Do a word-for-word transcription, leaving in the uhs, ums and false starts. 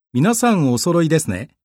皆さんお揃いですね。